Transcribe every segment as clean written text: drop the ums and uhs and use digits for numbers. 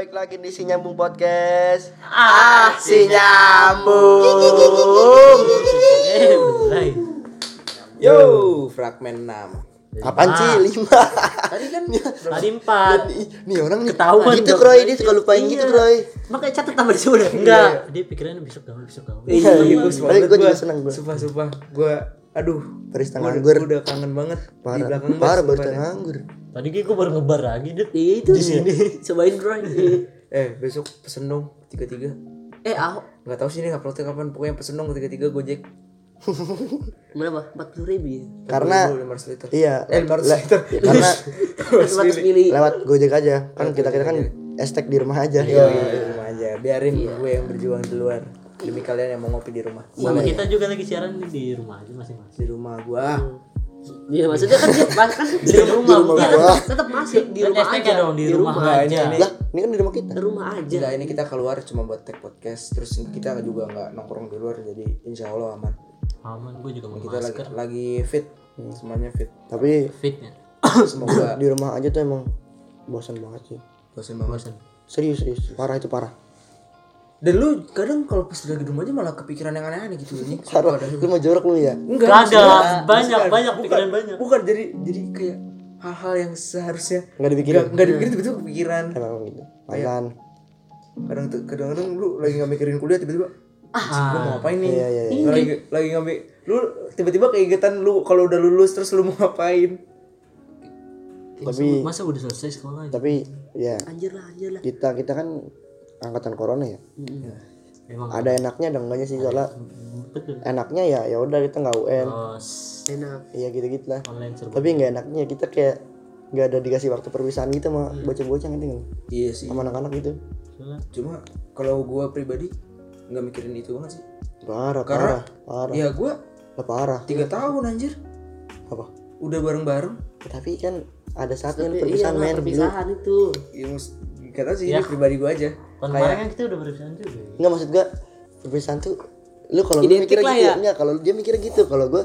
balik lagi di Si Nyambung Podcast. Si Nyambung. Mulai. Yo, fragmen 6. Apaan sih 5? Tadi kan Tadi 4. Nih orang nih Ketahuan gitu dong. Kroy, dia suka lupain Iya. gitu Kroy. Makanya catat tambah di sini. Enggak, dia pikirannya besok gaul. Iya, bagus Tapi banget gue juga seneng gue. Sumpah gue aduh, Barista gua nganggur. udah kangen banget di Parah, belakang parah bus, barista sumpah. nganggur. Tadi gue baru ngebar lagi, Dit. Itu Di sini. cobain bro. Besok pesen dong 33. Ahok Enggak tahu sih ini uploadnya kapan, pokoknya pesen dong 33 Gojek. berapa? 40.000 ya. Karena 500 liter. iya, 500 liter. karena 400 mili. lewat Gojek aja. Kan kita kan estek di rumah aja. Iya, di rumah aja. Biarin gue yang berjuang di luar. Demi kalian yang mau ngopi di rumah. Sama kita juga lagi siaran di rumah aja masing-masing. Di rumah gua. Iya maksudnya kan dia kan Di rumah rumah dia gua. tetap masih di Kan rumah hashtagnya aja. dong, di rumah aja. Lah, ini kan di rumah kita. Di rumah aja. Enggak, ini kita keluar cuma buat take podcast. Terus kita juga enggak nongkrong di luar, jadi insya Allah aman. Aman, gue juga mau Kita masker. lagi fit, semuanya fit. Tapi Fitnya. Semoga di rumah aja tuh emang bosan banget sih. bosan banget. Serius, parah itu parah. Dan lu kadang kalau pas lagi di rumah aja malah kepikiran yang aneh-aneh gitu nih. Parah. Lu mau jorok lu ya? Enggak, Kagak, banyak pikiran banyak. Bukan jadi kayak hal-hal yang seharusnya Enggak dipikirin. enggak dipikirin tiba-tiba kepikiran. Emang gitu. Mantan. Kadang-kadang lu lagi enggak mikirin kuliah tiba-tiba gua mau ngapain nih? Iya. Lu lagi ngambil lu tiba-tiba keingetan lu kalau udah lulus terus lu mau ngapain? Tapi Masa udah selesai sekolah? tapi ya Anjir lah. kita kan angkatan corona ya. Memang Ada enaknya ada enggaknya sih soalnya betul. enaknya ya udah kita nggak UN. Enak. Iya gitu lah. Online serba. Tapi nggak enaknya kita kayak nggak ada dikasih waktu perpisahan gitu sama bocah-bocah ngerti nggak? Iya sih. Sama anak-anak gitu. Cuma kalau gua pribadi nggak mikirin itu banget sih. Parah. Ya gua Lah, parah. 3 tahun anjir. Apa? Udah bareng-bareng. Tapi kan ada saatnya lu Iya perpisahan lah, men. perpisahan itu. Ya kata sih ini pribadi gua aja. Tahun kemarin kan kita udah berpisahan juga. Ya? Enggak maksud gua perpisahan tuh lu kalau lu Identik mikirnya lah gitu ya. enggak kalau dia mikirnya gitu kalau gua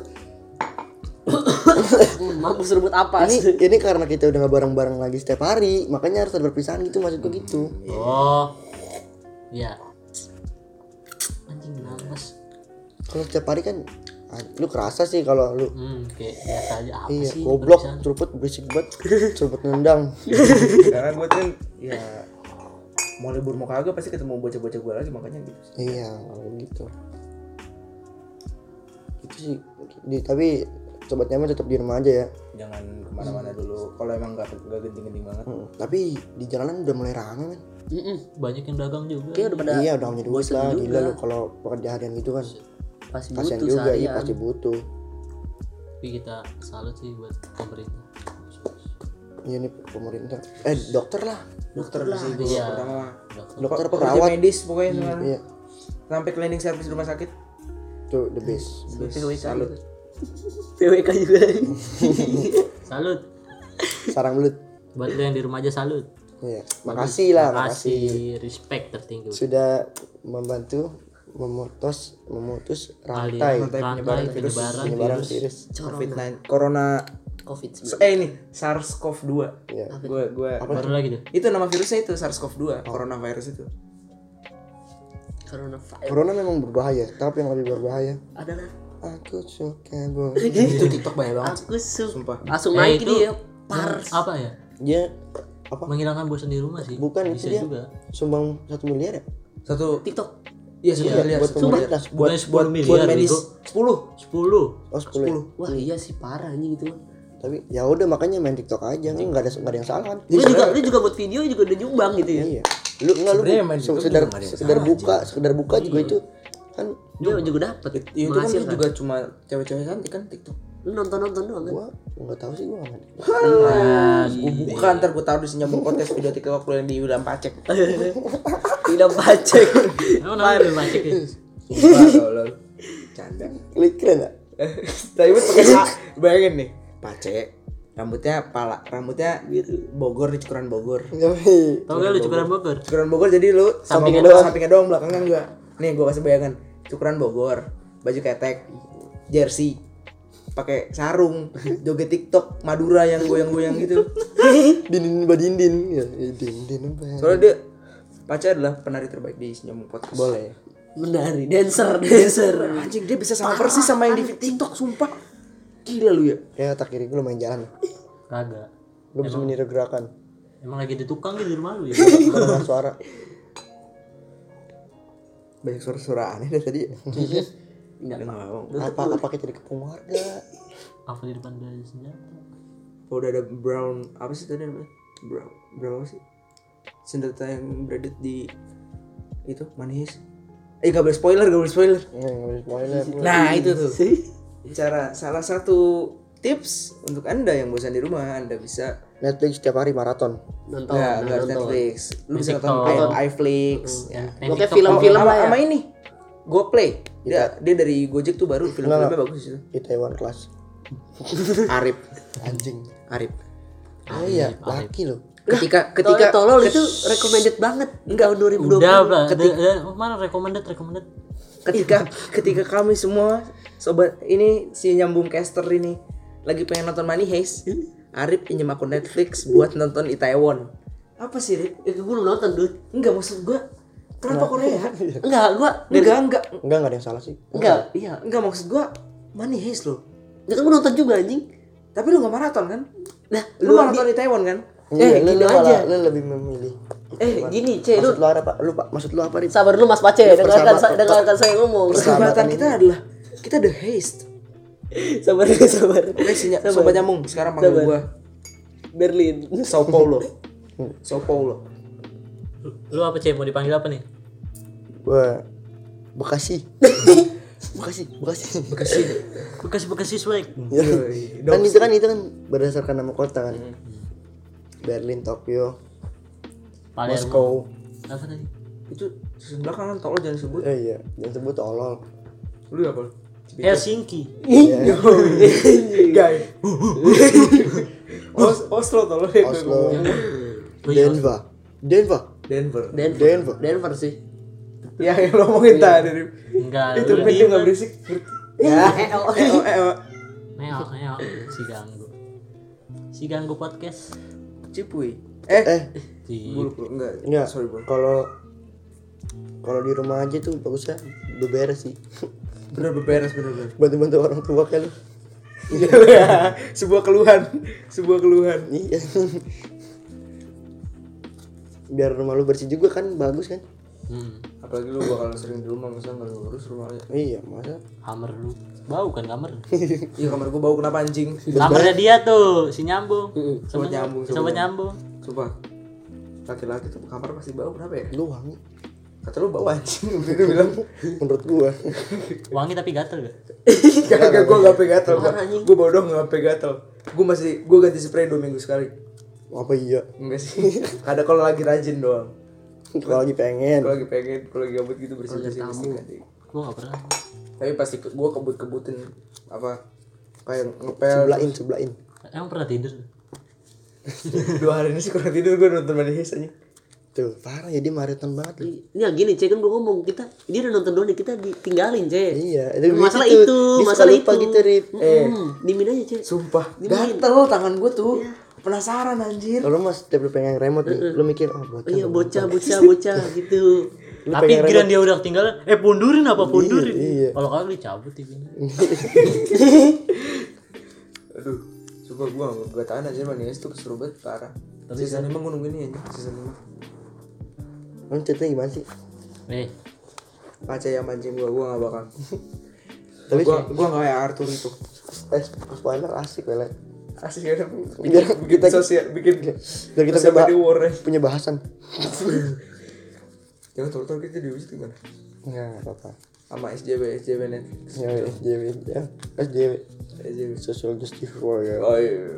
Mampus rebut apa? ini karena kita udah nggak bareng-bareng lagi setiap hari makanya harus ada perpisahan gitu maksud gua gitu. Oh. Iya. Anjing napas. Kalau setiap hari kan lu kerasa sih kalau lu Kayak biasa aja apa iya sih? goblok perpisahan? ceruput berisik banget ceruput nendang. Karena gua kan ya mau libur mau kagak pasti ketemu bocah-bocah gua lagi makanya gitu sih. Iya kalau gitu itu sih tapi sobat nyaman tetap di rumah aja ya. Jangan kemana-mana dulu kalau emang nggak genting-genting banget. Tapi di jalanan udah mulai rame men. Banyak yang dagang juga. Kayak udah pada Iya udah punya duit bosen lah juga. gila lu kalau pekerja harian gitu kan pasti kasian butuh juga iya seharian. pasti butuh. Tapi kita salut sih buat pemerintah. Iya nih pemerintah dokter lah Dokter lah itu Iya. pertama. dokter Pekerja perawat medis pokoknya sekarang. iya Sampai cleaning service rumah sakit. tuh the best. PWK Salut. PWK juga. Salut. Sarang belut. Buat lu yang di rumah aja salut. Iya makasih lah makasih Makasih, respect tertinggi. sudah membantu memutus rantai Rantai penyebaran virus. COVID-19 Corona COVID-19. ini SARS-CoV-2. Iya. Gua Baru lagi tuh. itu nama virusnya itu SARS-CoV-2, coronavirus itu. Coronavirus corona memang berbahaya tapi yang lebih berbahaya adalah aku suka boy. Itu TikTok banyak banget sih. aku Sumpah. langsung naik itu dia pars. Apa ya? Dia apa Menghilangkan bosan di rumah sih. bukan bisa itu dia juga. sumbang 1 miliar ya Satu TikTok. iya satu miliar. buat pemerintah Bukan 10 miliar. Buat medis bego. 10. 10. oh 10 Wah iya sih parah nih gitu. tapi ya udah makanya main TikTok aja kan nggak ada yang salah kan Lu juga buat video juga udah nyumbang gitu ya. iya lu Sebenarnya main TikTok sekedar juga nggak ada yang sekedar buka juga itu kan Dia juga dapet Itu kan juga cuma cewek-cewek cantik kan TikTok. Lu nonton doang kan. gua nggak tahu sih gua nggak main. Gua buka ntar gua taruh di senyambung kontes video TikTok yang di Ulam Pacek. Tidak pacek. Emang namanya belum macet ya? Sumpah tolol. Canda. Klik keren gak? Tapi pakai bayangin nih, Pacek. Rambutnya Bogor di Cukuran Bogor. Tau gak lu Cukuran Bogor? Cukuran Bogor jadi lu sama sampingnya doang belakangnya enggak. Nih gua kasih bayangan. Cukuran Bogor, baju ketek, jersey, pakai sarung, joget TikTok Madura yang goyang-goyang gitu. Dindin badindin ya dindin apa Soalnya dia Paca adalah penari terbaik di Nyambung Podcast. Boleh. Menari, dancer. Anjing dia bisa sama persis sama yang di TikTok, sumpah. Gila lu ya. Ya tak kiri gue lumayan jalan. Kagak. Gue bisa meniru gerakan. Emang lagi di tukang gitu di rumah lu ya. Dengan suara. Banyak suara-suara aneh dari tadi. Enggak. Apa kita dikepung warga? Apa di depan dari senjata? Oh, udah ada brown apa sih tadi namanya? Brown apa sih? Senjata yang beredit di itu manis. Gak boleh spoiler. Nggak boleh spoiler. Nah itu tuh cara salah satu tips untuk anda yang bosan di rumah, anda bisa Netflix setiap hari maraton. Nonton. nggak harus Netflix, lu bisa nonton TikTok. iFlix, ya. Gue kayak film-film lah ya. Sama ini GoPlay, dia dari Gojek tuh baru film-filmnya bagus itu. Di Taiwan kelas. Arif, Anjing. Arif. Oh iya, laki lo. Ketika tolol itu recommended banget di tahun 2020. Udah, mana recommended. ketika kami semua sobat ini si nyambung caster ini lagi pengen nonton Money Heist, Arif pinjam akun Netflix buat nonton Itaewon. Apa sih, Rip? Gue belum nonton, dude. Enggak, maksud gua kenapa Korea? Enggak, Enggak. Enggak ada yang salah sih. Enggak, iya. Enggak, maksud gua Money Heist loh. Ya kan gue nonton juga anjing. Tapi lu enggak maraton kan? Nah, Lu maraton Itaewon kan? Iya, gini lu aja. Lu lebih memilih. Gini, Ce, lu Maksud lu apa? Maksud lu apa, Rin? sabar dulu Mas Pace, dengarkan saya ngomong. Persahabatan kita adalah kita the heist. Sabar. Sobat nyambung, sekarang panggil Sabar. gua Berlin. Sao Paulo. Lu apa Cek? Mau dipanggil apa nih? Gua Bekasi. Bekasi swag. Ya. Kan itu kan berdasarkan nama kota kan. Berlin, Tokyo, Palermo. Moskow. Apa tadi? Itu season belakangan tolong jangan sebut. Iya, jangan sebut tolol. Lu apa? Helsinki. Guys. Oslo tolong ya. Oslo, Denver. Denver sih. Ya yang lo ngomongin tadi. Enggak. Itu lu dia diem, enggak berisik. Ya. Neo. Si ganggu podcast. Cipuy. Di Enggak. Enggak. Sorry, Bro. Kalau di rumah aja tuh bagusnya beberes sih. Bener. Bantu-bantu orang tua kan. Iya. Sebuah keluhan. Iya. Biar rumah lu bersih juga kan bagus kan? Apalagi lu bakal sering di rumah, masa enggak lu urus rumahnya. Iya, masa? kamar lu. Bau kan kamar? Iya, kamar gua bau kenapa anjing? Kamarnya dia tuh, si nyambung. Sobat nyambung. Sobat nyambung. Sumpah. Laki-laki tuh kamar pasti bau, kenapa ya? Lu wangi. Kata lu bau anjing, itu bilang. Menurut gua. Wangi tapi gatel gak? Gak, gue gak pegatel. Anjing. Gue bodoh gak pegatel. Gue ganti spray 2 minggu sekali. Apa iya? Enggak sih. Ada kalau lagi rajin doang. Kalau lagi pengen. Kalau lagi gabut gitu bersih mesti ganti. Gua gak pernah. Tapi pasti gue kebut-kebutin apa kayak ngepel. Sebelahin. Emang pernah tidur? 2 hari ini sih kurang tidur, gue nonton Money Heist aja. Tuh, parah ya dia maraton banget. Lu. Ini yang gini, Ce, kan gue ngomong dia udah nonton doang, kita ditinggalin, Ce. Iya, Masalah gitu. itu, Dia suka masalah lupa itu. gitu, Rip. Dimin aja, Ce. Sumpah, Dimin. gatel tangan gue tuh. Penasaran anjir. Kalau mas setiap lu pengen remote nih, lu mikir bocah. Iya, bocah gitu. Lu Tapi pengen kira dia udah ketinggalan, pundurin apa pundurin? Iya. Kalau kagak dicabut TV-nya. Aduh, sumpah gue gak tahan aja Money Heist tuh keseru banget parah. Season 5 gue nungguin ini aja, season 5. Lu ceritanya gimana sih? Paca yang mancing gue gak bakal. Tapi gue gak kayak Arthur itu. spoiler asik lah. Asik ya, Biar bikin kita- sosial, bikin Biar kita sosial media war ya. punya bahasan. Jangan tol-tol kita diusir gimana? Enggak apa-apa. Sama SJW net. Ya, SJW. Social Justice Warrior. Oh iya.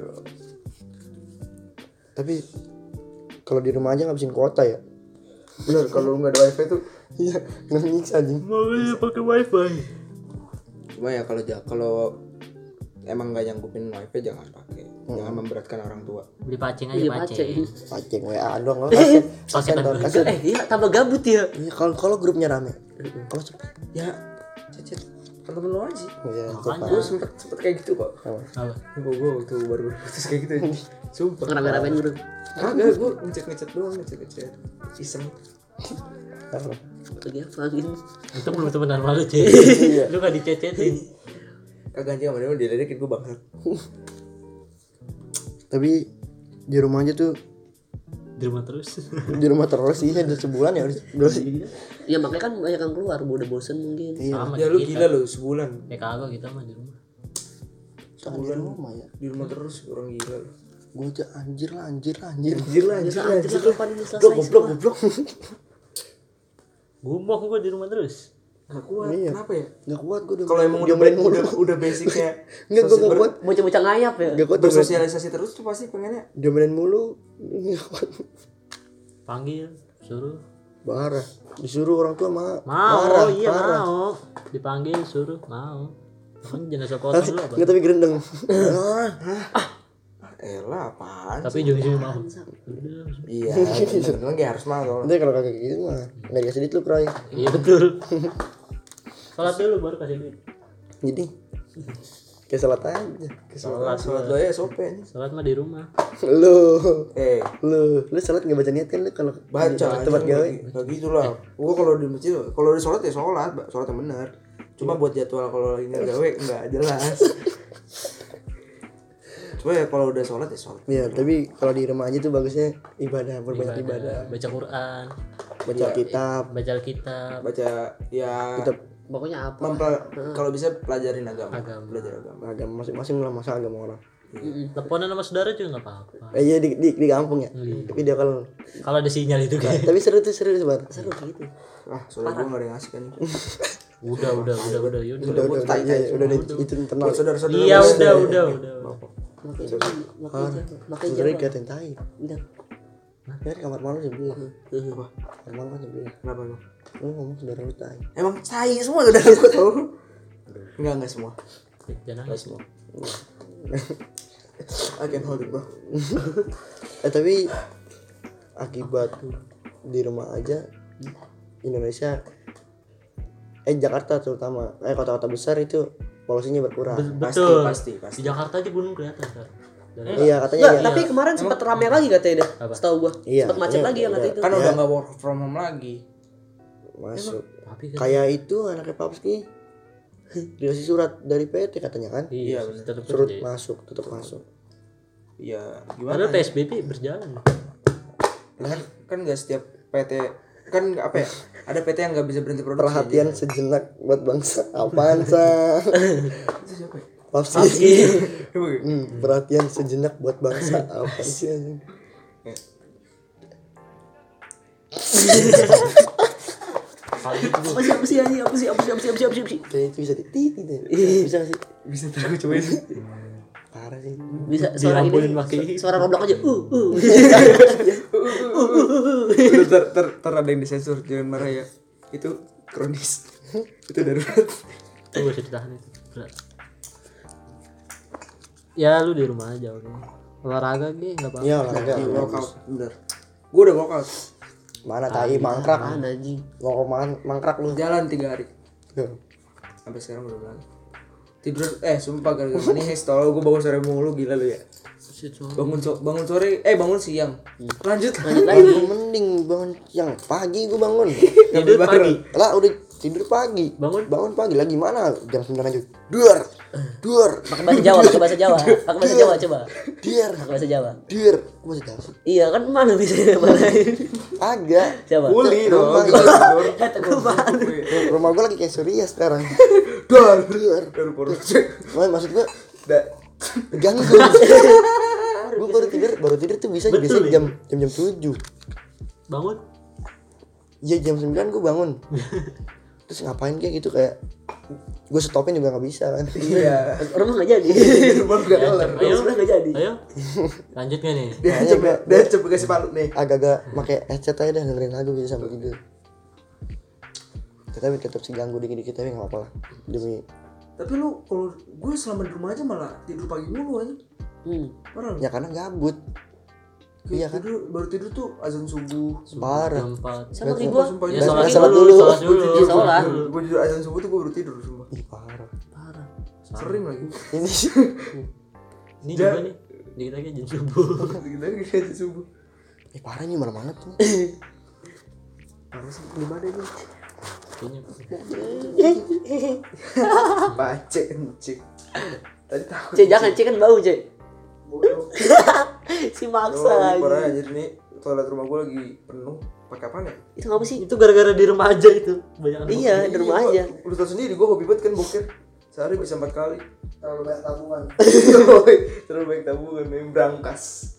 Tapi kalau di rumah aja ngabisin kuota ya. Bener, kalau nggak ada wifi tuh. Iya, nyiksa anjing. Mau pakai wifi. Cuma ya kalau emang nggak nyanggupin wifi jangan pakai. Jangan memberatkan orang tua. Beli pacing aja Iya, pacing. Paceng WA dong lo. Paketan Kasih. Iya, tambah gabut ya. Kalau grupnya rame. Kalau cepet. Ya, cecet temen lu aja. Iya, Makanya. Gue sempet kayak gitu kok. Apa? Gue waktu baru putus kayak gitu. Sumpah. Ngerame-ramein grup. Kagak, gue ngechat doang, ngechat iseng. Lagi apa gitu. Itu belum temenan malu cuy. Lu gak dicecetin. Kagak anjing sama dia diledekin gue bangsat. Tapi di rumah aja tuh, Di rumah terus. di rumah terus sih udah sebulan ya udah sih. Ya makanya kan banyak yang keluar, udah bosen mungkin. Sama Ya lu kita. gila lu sebulan. Kagak kita mah di rumah. Sebulan rumah ya. Di rumah terus orang gila lu. Gue aja anjir lah. Anjir lah. Kapan ini selesai? Goblok. Gumoh gua di rumah terus. Gak kuat. Iya. Kenapa ya? Gak kuat gue udah. Kalau emang udah basicnya Enggak gue gak kuat. Bocah-bocah ngayap ya. Gak kuat bersosialisasi terus tuh pasti pengennya. diomelin mulu. Gak kuat. Panggil, suruh. Parah. Disuruh orang tua Mau, marah. iya parah. mau. Dipanggil, suruh, mau. Kan jenazah potong dulu apa? Enggak tapi gerendeng. Elah apaan sih? Tapi ujung-ujungnya mau. Udah. Iya, bener-bener kayak harus mau. Nanti kalau kagak gitu mah enggak dikasih duit lu, Kroy. Iya betul. Sholat dulu baru kasih duit. Jadi kayak salat aja. Sholat doa ya sope nih. Sholat mah di rumah. Lu salat enggak baca niat kan lu kalau Baca di tempat gawe. Gak gitu lah. Gua kalau di masjid, kalau di sholat ya sholat yang benar. Cuma buat jadwal kalau lagi nggak gawe nggak jelas. Cuma ya kalau udah sholat ya sholat. Iya, tapi kalau di rumah aja tuh bagusnya ibadah, berbanyak ibadah. Baca Quran, Baca kitab, baca Alkitab. Baca ya. kitab Pokoknya apa? Kalau bisa pelajarin agama. Agama. Belajar agama. agama masing-masing lah masa agama orang. Teleponan sama saudara juga nggak apa-apa. Iya di kampung ya. Tapi dia kalau Kalau ada sinyal itu kan. tapi seru Bar. Seru gitu. Soalnya gua nggak ada yang ngasih kan. Udah, yaudah. Udah itu internal. Buat saudara-saudara. Iya, udah. Makanya Saudara dikatain tai. udah. Ya di kamar malu sebelah. Apa? Kamar malu kan sebelah. Kenapa emang? Lu ngomong saudara lu tai. Emang tai semua saudara gua tahu. Enggak semua. Jangan nangis. Semua. I can hold it, bro. Tapi akibat di rumah aja Indonesia Jakarta terutama kota-kota besar itu polusinya berkurang. Betul. Pasti. Di Jakarta aja gunung kelihatan kan. Iya katanya Enggak, ya. tapi kemarin sempat rame lagi katanya dah. Setahu gua. Iya, Sempat macet katanya lagi yang kata itu. Kan udah nggak work from home lagi. Masuk. Tapi kan Kayak itu anaknya Papski dikasih surat dari PT katanya kan. iya, bener. tetap Surat kerja. masuk, tetap masuk. Iya, gimana? Padahal PSBB berjalan. Kan nggak setiap PT kan apa ya? Ada PT yang nggak bisa berhenti produksi. Perhatian sejenak buat bangsa. Apaan sa? Itu siapa ya? Papski. Perhatian sejenak buat bangsa. Apa sih anjing? Apa sih anjing? Apa sih? Kayak itu bisa titit gitu. Bisa sih. Bisa terus gue cobain. Parah sih. Bisa suara Dirampunin ini. pakai. Suara roblok aja. Ter ada yang disensor, jangan marah ya. Itu kronis. Itu darurat. Itu gak bisa ditahan itu. Berat. Ya lu di rumah aja oke. Olahraga gitu enggak apa-apa. Iya olahraga. Workout, bener. Gue udah workout. Mana tai mangkrak. Mana anjing? Mau mangkrak lu. Jalan 3 hari. Tuh. Sampai sekarang belum lagi. Tidur sumpah gara-gara nih tolong gue bangun sore mulu gila lu ya. Bangun sore bangun siang. Lanjut Lagi mending bangun siang. Pagi gua bangun. Tidur pagi. Lah udah tidur pagi. Bangun pagi lagi mana? Jam 9 aja. Duar. Pakai bahasa Jawa, pakai bahasa Jawa. Pakai bahasa Jawa coba. Diar. Pakai bahasa Jawa. Diar. Gua masih tahu sih. Iya kan mana bisa malahin. Agak. Coba. Kuli dong. Rumah gua lagi kayak Surya sekarang. Duar. Maksud gua ganggu. Gua baru tidur tuh bisa Betul, biasanya ya? jam 7. bangun. Iya jam 9 gua bangun. Terus ngapain kayak gitu kayak gue stopin juga nggak bisa kan. Iya. Rumah enggak jadi. Rumah gak kelar. Ayo. Rumah enggak jadi. Ayo. Lanjut gak nih? Dia coba kasih palu nih. agak-agak pakai headset aja dah dengerin lagu bisa sampai tidur. Tapi tetap sih ganggu dikit-dikit tapi nggak apa-apa lah demi. Tapi lu kalau gue selama di rumah aja malah tidur pagi mulu aja. Parah lu. Ya karena gabut. Iya kan. Baru tidur tuh azan subuh. Parah. Jam 4. Sama kayak gua. Sumpah Ya ini sholat sholat dulu. dulu. Sholat dulu. Iya, sholat. gue jujur azan subuh tuh gue baru tidur sumpah. Ih parah. Sering lagi. Ini Ini juga nih. Dikit lagi jam subuh. Kita azan subuh. parah nih malam banget nih. Harus di mana nih? Baca kencing. Tadi takut. Cek jangan cek kan bau cek. Bodoh. Si Oh, maksa ini parah aja. anjir nih. Toilet rumah gue lagi penuh. Pakai apaan ya? Itu ngapa sih? Itu gara-gara di rumah aja itu. Banyak Iya di rumah aja. Lu tau sendiri gue hobi banget kan boker. Sehari bisa 4 kali. Terlalu banyak tabungan. Terlalu baik tabungan main berangkas.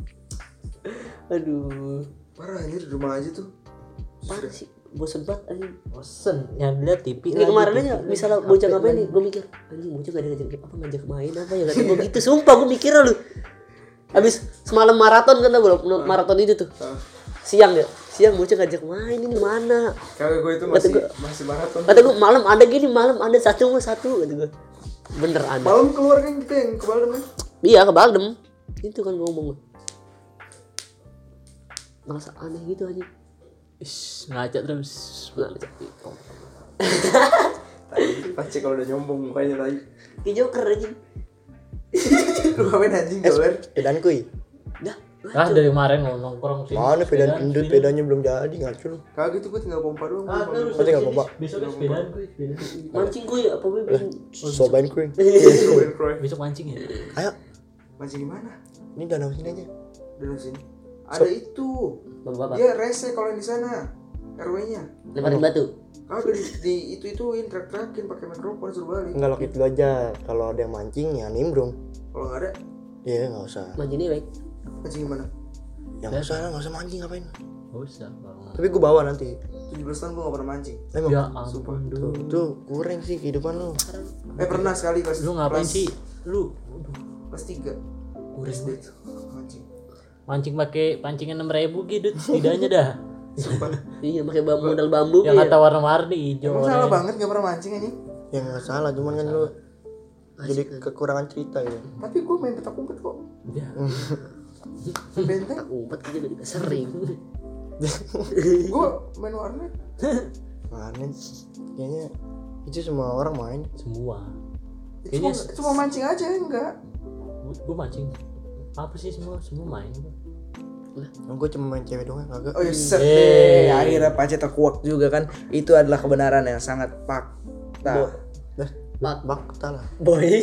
Aduh. Parah anjir di rumah aja tuh. Parah sih. Bosen banget anjing. bosen yang lihat TV. Ini kemarin aja misalnya bocah ngapain nih, gue mikir anjing bocah gak ada ngajak main apa ya, kata gue gitu, sumpah gue mikir lu. Habis semalam maraton kan tau belum, maraton itu tuh siang bocah ngajak main, ini mana Kagak gue itu masih maraton. kata gue malam ada gini, malam ada satu kata gue bener ada. Malam keluar kan kita yang ke Baldem kan? Iya ke Baldem itu kan gue ngomong merasa aneh gitu anjing. Ngaca terus. Tadi pasti kalau udah nyombong mukanya tadi. Kayak Joker anjing. Lu ngapain anjing dolar? Pedan kuy. Dah Dari kemarin nongkrong sih. Mana pedan endut, pedanya belum jadi ngaco lu. Kagak gitu gue tinggal pompa doang. Kau tinggal pompa. Besok sepedaan gue. mancing gue apa gue bikin Sobain kuy. Besok mancing ya. Ayo, Mancing gimana? ini danau sini aja. Dari sini. Ada itu. bapak Dia rese kalau yang di sana. RW-nya. lemparin batu. Kalau di itu-ituin trak-trakin pakai mikrofon suruh balik. Enggak lokit dulu aja. Kalau ada yang mancing ya nimbrung. Kalau enggak ada, Iya, enggak usah. Mancing nih baik. mancing gimana? Ya enggak usah lah, enggak usah mancing ngapain. Gak usah. Tapi gua bawa nanti. 17 tahun gue gak pernah mancing. Emang Ya ampun tuh, tuh kurang sih kehidupan lu. Pernah sekali kelas. Lu ngapain kelas- sih? Lu Kelas 3. SD tuh mancing. mancing pakai pancingan 6.000 gitu setidaknya dah. Iya pakai modal bambu Yang ya. kata warna-warni hijau. Emang salah oranye. banget gak pernah mancing anjing. Ya enggak salah, cuman kan lu jadi kekurangan cerita gitu. Tapi gue main petak umpet kok. Ya. Main benteng. Umpet aja udah sering. Gue main warnet. Mana kayaknya itu semua orang main. Semua. Cuma mancing aja enggak. Gue mancing. Apa sih semua main. Gue cuma main cewek doang kagak. Oh ya set deh. Akhirnya Pace terkuak juga kan. Itu adalah kebenaran yang sangat fakta. Bakta lah. Boy.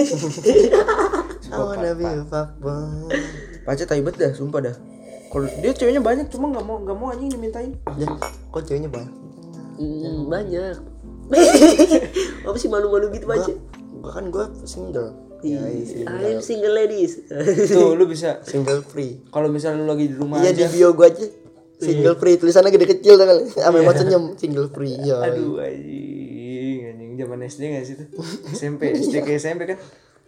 I wanna be a fuckboy. Pace tai bet dah, sumpah dah. Kalau dia ceweknya banyak cuma nggak mau anjing dimintain. Ya, kok ceweknya banyak? Banyak. Apa sih malu-malu gitu aja? Gua single. Ya, I'm single ladies. Tuh lu bisa. single free. Kalau misalnya lu lagi di rumah Iya di aja. bio gua aja. Single free tulisannya gede kecil tuh kali. Ame buat senyum single free. Ya. Aduh anjing zaman SD nggak sih tuh? SMP SD ke SMP kan?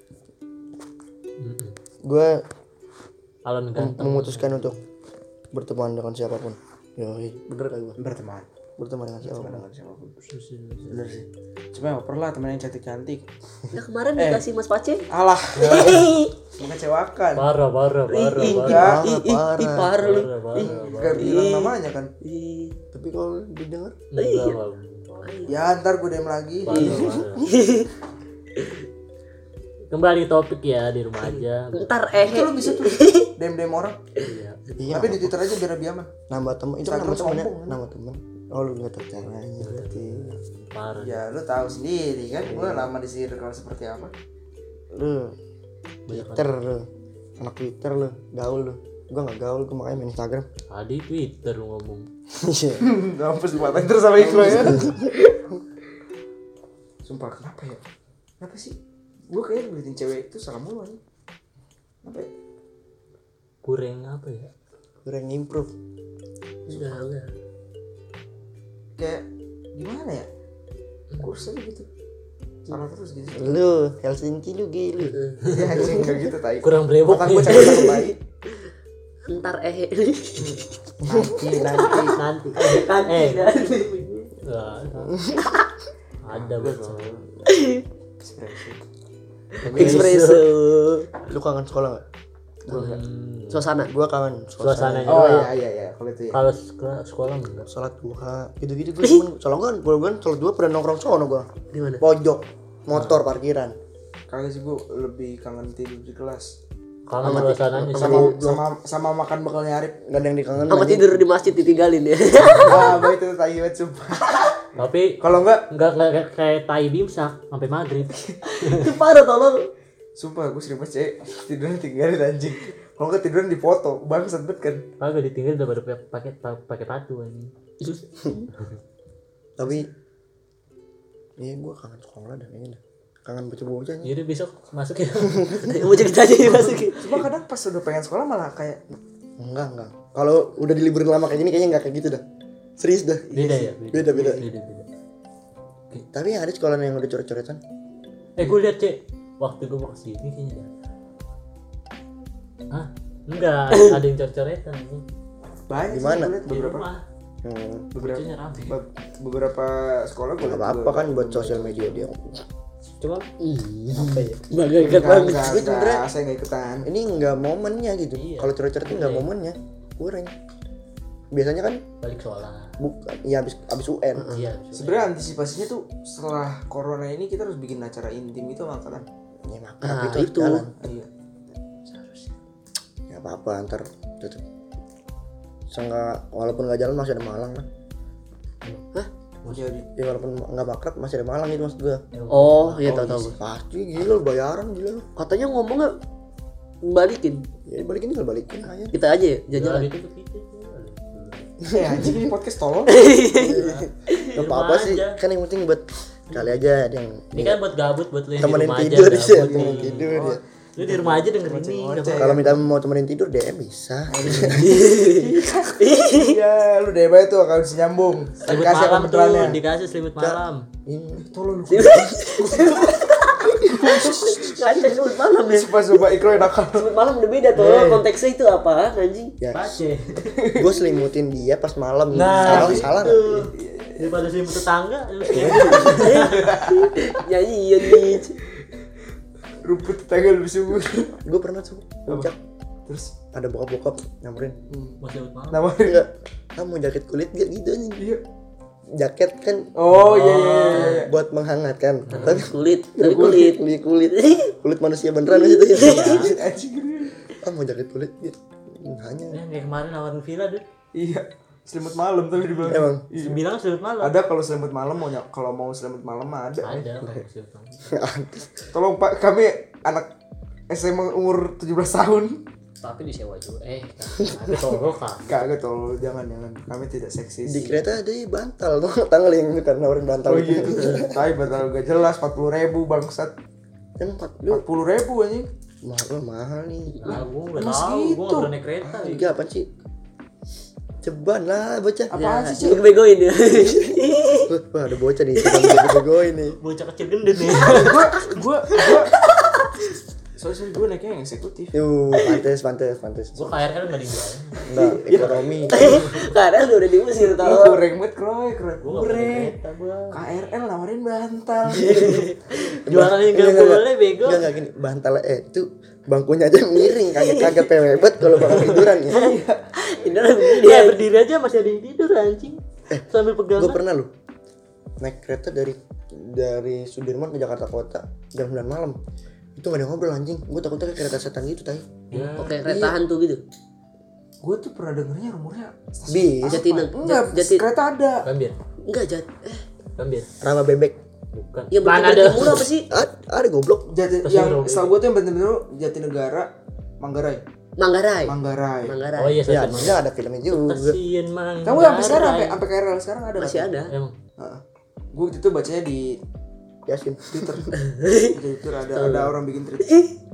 Gua Alon ganteng. memutuskan untuk berteman dengan siapapun. Yoi, bener kali gua. Berteman dengan siapapun. Bener sih. Cuma ya pernah temen yang cantik-cantik. Nah kemarin dikasih Mas Pace. Alah. Mengecewakan. Parah. Parah. Parah lu. Gak bilang namanya kan. Tapi kalau didengar Ya ntar gue DM lagi. Kembali topik ya di rumah aja. Ntar Itu lu bisa tuh DM orang. Iya. iya. Tapi di Twitter aja biar lebih aman. Nambah teman itu kan Instagram nama temen ya? sombong, kan? Nama temen. Oh lu nggak tahu caranya berarti. Parah. Ya lu tahu sendiri kan gue lama di circle seperti apa. Lu Twitter lu. Anak Twitter lu, gaul lu. Gua nggak gaul, gua makanya main Instagram. Tadi Twitter lu ngomong. Iya. Ngampus dimatain terus sama Iqbal ya. Sumpah kenapa ya? Kenapa sih? Gue kayaknya ngeliatin cewek itu salah mulu nih. Kenapa ya? Kurang apa ya? Kurang improve. enggak. Kayak gimana ya? Kurus aja gitu. Salah terus gitu. Lu Helsinki lu gila. Ya anjing kayak gitu tai. Kurang brewok. Otak gue cakep baik. Ntar Nanti. Ada bro. espresso. Lu kangen sekolah nggak? Suasana. Gua kangen Suasananya. Oh iya kalau itu ya. Kalau sekolah enggak. Sholat duha gitu-gitu gue cuman soalnya gua sholat duha pernah nongkrong sono gua. Di mana? Pojok motor parkiran. Kagak sih gue lebih kangen tidur di kelas. Kangen suasananya sih. sama makan bekalnya Arif. Enggak ada yang dikangenin. Sama anjing. tidur di masjid ditinggalin ya. Baik itu tai banget sumpah. Tapi Kalau enggak kayak tai bimsak sampai maghrib. Itu parah tolong. sumpah gue sering banget tidurnya tinggalin anjing. Kalau enggak tiduran di foto, bangsat banget kan. Kagak ditinggal udah baru pakai patu anjing. Tapi iya gue kangen sekolah dah kayaknya dah. Kangen bocah-bocah nih. Jadi besok masuk ya. Mau cerita aja ya masukin. Cuma kadang pas udah pengen sekolah malah kayak Enggak. Kalau udah diliburin lama kayak gini kayaknya enggak kayak gitu dah. Serius dah. Beda ya. Beda. Beda. Tapi ada sekolah yang udah coret-coretan. Gue liat cek waktu gue mau kesini kayaknya dah. Hah? Enggak, ada yang coret-coretan. banyak Di mana? sih, gua liat Di beberapa rumah. beberapa Bocahnya rame. beberapa sekolah gue Enggak apa-apa kan buat sosial media dia. Cuma Apa ya? Bangga ikat banget. Gue sebenernya saya nggak ikutan. ini enggak momennya gitu. Iya. Kalau coret-coret itu enggak momennya. Kurang. Biasanya kan balik sekolah. bukan ya abis UN. Iya. Sebenarnya antisipasinya tuh setelah corona ini kita harus bikin acara intim itu angkatan. Ya makan Nah, itu harus itu. jalan. Iya. Ya apa antar tutup. Seenggak walaupun enggak jalan masih ada Malang kan. Jadi Ya walaupun enggak makrab masih ada Malang itu maksud gua. Oh, iya tahu gue. Pasti gila lu bayaran gila lu. Katanya ngomongnya balikin. Ya balikin tinggal balikin aja. Kita aja ya jalan. Itu tuh gitu. ya anjing ini podcast tolong. Enggak apa-apa sih. aja. Kan yang penting buat kali aja ada yang Ini kan buat gabut buat lu yang di temenin rumah aja. tidur sih, gabut temenin nih. tidur ya. Lu di rumah aja dengerin ini. Ngoceh. Kalau minta mau temenin tidur DM bisa. Iya, lu deh baik tuh kalau bisa nyambung. Selimut Kasih malam kebetulannya. tuh, dikasih selimut malam. Ini Tolong lu. Ada sebut malam ya. Sumpah Ikro yang nakal. Sebut malam udah beda tuh. Konteksnya itu apa anjing? ya Pace. gue selimutin dia pas malam. Nah, salah. Daripada selimut tetangga. Nyanyi iya nih. Rumput tetangga lebih subur. Gue pernah tuh puncak Terus ada bokap nyamperin. Mau selimut malam. namanya Enggak, kamu jaket kulit gak gitu nih? iya. Jaket kan Oh iya. buat menghangatkan. Tapi Kulit, dari kulit. kulit manusia beneran itu ya. Anjing. Kamu jaket kulit gitu. Hanya Yang kayak kemarin nawarin villa deh. Iya. Selimut malam tapi dibilang. Emang? Iya. Bilang selimut malam. Ada kalau selimut malam kalau mau selimut malam mah ada. Ada kalau selimut malam. Tolong Pak, kami anak SMA umur 17 tahun. Tapi disewa juga. Ada toko kak. Kagak tolong jangan. Kami tidak seksis. di kereta ada bantal tuh, tanggal yang itu kan nawarin bantal Oh itu. iya. Tapi batal gak jelas 40.000 bangsat. Emang 40 lu 40.000 anjing. mahal nih. Ah, gue nggak Emang tahu. Gue segitu? nggak pernah naik kereta. Tiga apa sih? Ceban lah bocah. Apaan Ya, sih, lu begoin ya. Wah ada bocah nih, ceban gue ini. Bocah kecil gendut nih. Gua Sorry gue naiknya yang eksekutif. Yuh, pantes. Gue KRL nggak dibayar. Enggak, ekonomi. Karena lu udah diusir Lu tau. goreng banget Kroy. Gue nggak pernah Goreng. naik kereta gue. KRL nawarin bantal. Jualan yang nggak boleh bego. Enggak gini, bantal itu bangkunya aja miring kagak pewebet kalau bakal tiduran ya. Ini orang begini Dia ya. berdiri aja masih ada yang tidur anjing. Sambil pegangan. Gue pernah lu naik kereta dari Sudirman ke Jakarta Kota jam 9 malam. Itu gak ada ngobrol anjing. Gue takutnya kayak kereta setan gitu tai. Oke, kereta hantu gitu. Gue tuh pernah dengernya rumornya Bis, Jatinegara. enggak, kereta ada. Gambir. Enggak Gambir. Rawa bebek. Bukan. Ya Mana bukan ada. timur apa sih? Ada goblok. Yang setahu gue tuh yang bener-bener Jatinegara Manggarai. Manggarai. Manggarai. Manggarai. Oh iya Ya, saya enggak ada filmnya juga. Stasiun Manggarai. Kamu sampai sekarang sampai KRL sekarang ada. Masih ada. Emang. Gue waktu itu bacanya di Yasin. Twitter. Di Twitter ada orang bikin tweet.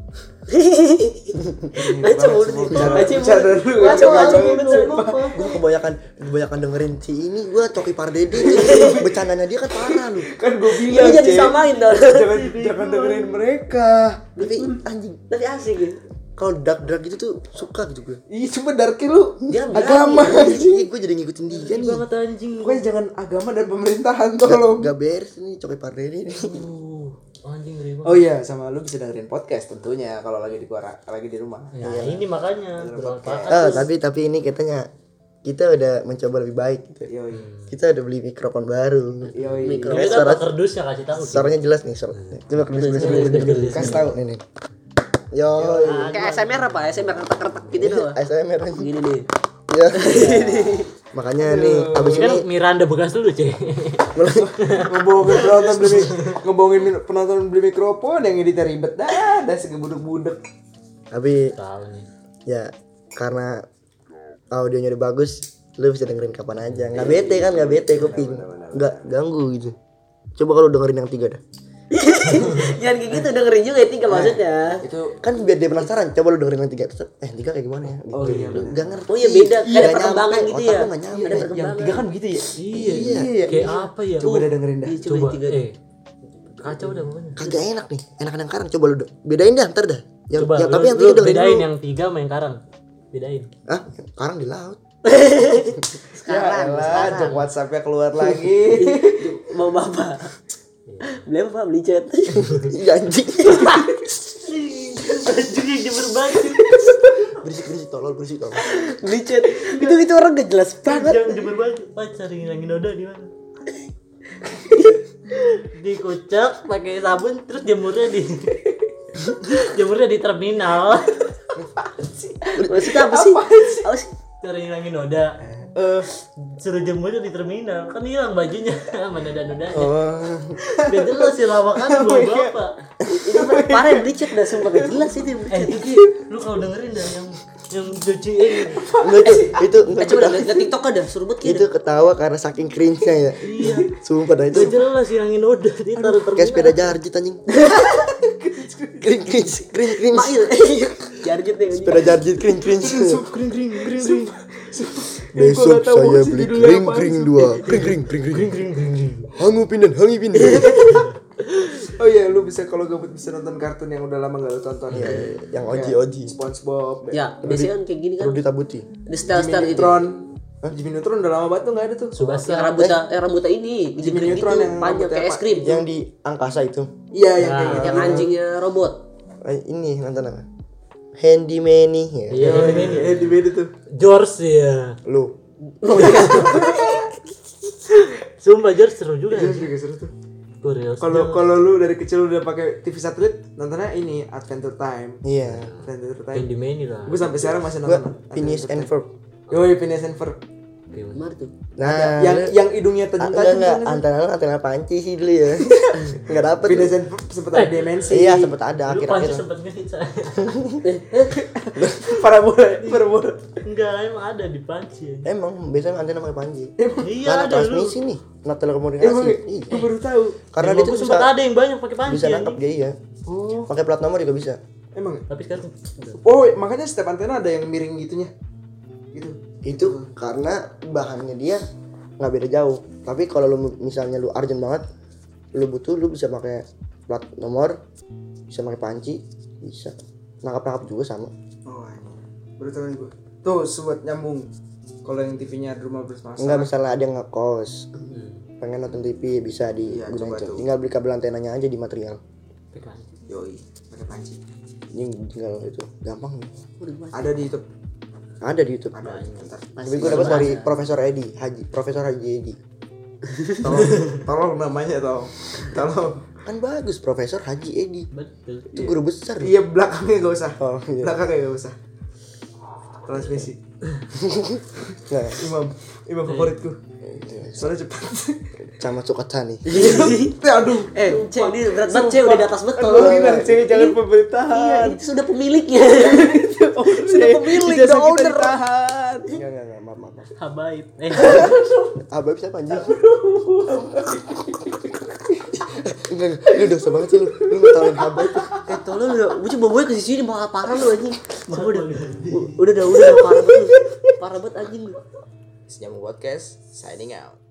Baca mulu nih. Bicara dulu. Baca Gue kebanyakan dengerin si ini. Gue Coki Pardede nih. Bercandanya dia kan parah lu. Kan gue Iya bilang jadi Cek. samain dong. Jangan dengerin mereka. Tapi anjing. Tapi asik ya. Kalau dark gitu tuh suka gitu gue. Ih, cuma darky lu. Dia Agama. Iya, gue jadi ngikutin dia nih. Banget anjing. Pokoknya jangan agama dan pemerintahan tolong. Gak beres nih Coki Pardede nih. Anjing ngeri banget. Oh iya, sama lu bisa dengerin podcast tentunya kalau lagi di rumah. Ya, ini makanya bermanfaat. Tapi ini kita udah mencoba lebih baik gitu. Yoi. Kita udah beli mikrofon baru. Yoi. Ini kan Pak Kerdus yang kasih tahu. Suaranya jelas nih. Coba kerdus. Kasih tahu nih. Yo. Kayak ASMR apa? ASMR retak-retak gitu doang. ASMR. Gini nih. Ya. Makanya nih abis Kan ini Miranda bekas dulu, Cek. ngebohongin penonton beli mikrofon yang editnya ribet dah segebuduk-buduk. tapi Salah nih. ya karena audionya udah bagus, lu bisa dengerin kapan aja. Nggak bete kan, nggak bete kuping. Nggak ganggu gitu. Coba kalau dengerin yang 3 dah. Jangan kayak gitu dengerin juga ya 3 maksudnya. Itu Kan biar dia penasaran, coba lu dengerin yang 3. 3 kayak gimana ya? Gitu. Oh, iya, Lu nggak ngerti. Oh iya beda, Iya, ada perkembangan nyampe, gitu otak ya. lu nggak nyampe. Ada yang perkembangan. 3 kan gitu ya. Iya. Kayak apa ya? Coba udah dengerin dah. Iya, coba Coba yang 3. kacau dah pokoknya. Kagak enak nih, enakan yang karang. Coba lu bedain dah ntar dah. Yang, Coba tapi yang lu 3 dengerin bedain dulu. yang 3 sama yang karang. Bedain. Hah? Karang di laut. Ya elah, jok WhatsApp-nya keluar lagi. Mau bapak. Beli apa? Beli cat. Iya anjing. Baju yang jemur baju. Berisik tolol. Beli cat. Itu orang gak jelas banget. Yang jemur baju. Cari ngilangin noda di mana? Dikocok pakai sabun terus jemurnya di terminal. Maksudnya apa sih? Apa sih? Cari ngilangin noda. Suruh jemurnya di terminal kan hilang bajunya sama noda-nodanya. Oh. Gak jelas sih lawakan bawa bapak. Itu parah yang beli cat dah sumpah gak jelas itu yang beli cat. Iki lu kalau dengerin dah yang cuciin. Enggak itu Coba dah lihat TikTok ada suruh buat itu ketawa karena saking cringe-nya ya. Iya. Sumpah dah itu Gak jelas hilangin noda dia taruh kayak sepeda terminal. jarjit anjing. cringe. Mail. Jarjit deh. Sepeda jarjit cringe. Kring. Besok saya beli kring 2. Kring. Hangupin. Oh iya, lu bisa kalau gabut bisa nonton kartun yang udah lama gak lu tonton. Iya, yang OG. SpongeBob. Ya, biasanya kan kayak gini kan. Perlu ditabuti. Ada style-style gitu. Neutron. Jimmy Neutron udah lama banget tuh enggak ada tuh. Subasa. Yang rambutnya ini, Jimmy digigit gitu, Neutron yang panjang rambutnya kayak es apa? krim. Yang di angkasa itu. Iya, yang kayak gitu. Yang anjingnya robot. Ini nonton apa? Handyman nih ya. Iya, ini Di beda tuh. George ya. Lu. Sumpah George seru juga. Iya juga seru tuh. Korea. Kalau lu dari kecil udah pakai TV satelit, nontonnya ini Adventure Time. Iya. Adventure Time. Yang di main lah. Gue sampai sekarang masih Gua nonton. Phineas and Ferb. Yoi, Phineas and Ferb. Gimana tuh? Nah, Yang hidungnya tajam-tajam. enggak antara panci sih dulu ya. Enggak dapet. Phineas and Ferb sempet ada dimensi. Iya, sempet ada Lu panci akhir-akhir. sempet ngehit saya. Parabola. Enggak, emang ada di panci. Emang biasanya antena pakai panci. Iya Karena ada lu. transmisi nih, not Emang telekomunikasi. Iya. gue baru tahu. Karena Emang dia tuh gua sempet bisa ada yang banyak pakai panci. bisa nangkap anjing. dia iya. Oh, Pakai plat nomor juga bisa. emang. Tapi sekarang udah. Oh, makanya setiap antena ada yang miring gitunya. Gitu. Itu karena bahannya dia nggak beda jauh. Tapi kalau lu misalnya lu urgent banget, lu butuh, lu bisa pakai plat nomor, bisa pakai panci, bisa. Nangkap juga sama. Oh, ini. Baru tahu nih gue. Tuh, sobat nyambung. Kalau yang TV-nya di rumah bermasalah. Enggak, misalnya ada yang ngekos, pengen nonton TV bisa Iya, digunain coba itu. tuh. Tinggal beli kabel antenanya aja di material. Pakai panci. Yoi, pakai panci. Ini tinggal itu gampang. Ada di YouTube. Ada di YouTube. Ada. Bentar. Tapi gue dapat dari Profesor Haji Edi. Tolong namanya tolong. Kan bagus Profesor Haji Edi. Betul. Itu guru besar. Iya, belakangnya gak usah. Oh, iya. Belakangnya gak usah. Transmisi. Nah, Imam favoritku. Soalnya cepat. sama Sukatani. Aduh. Cek ini berat banget, Cek udah di atas betul. Aduh, bilang cewek jangan Iya, pemerintahan. itu sudah pemiliknya. Sudah pemilik, Ijazah the kita owner. ditahan. Enggak, maaf. Habaib. Abang siapa anjing? Enggak, lu dosa banget sih lu. Lu ngetawain Habib. Tolong udah, gue coba bawa ke sini malah parah lu anjing. Coba udah parah banget. Parah banget anjing lu. Nyambung podcast signing out.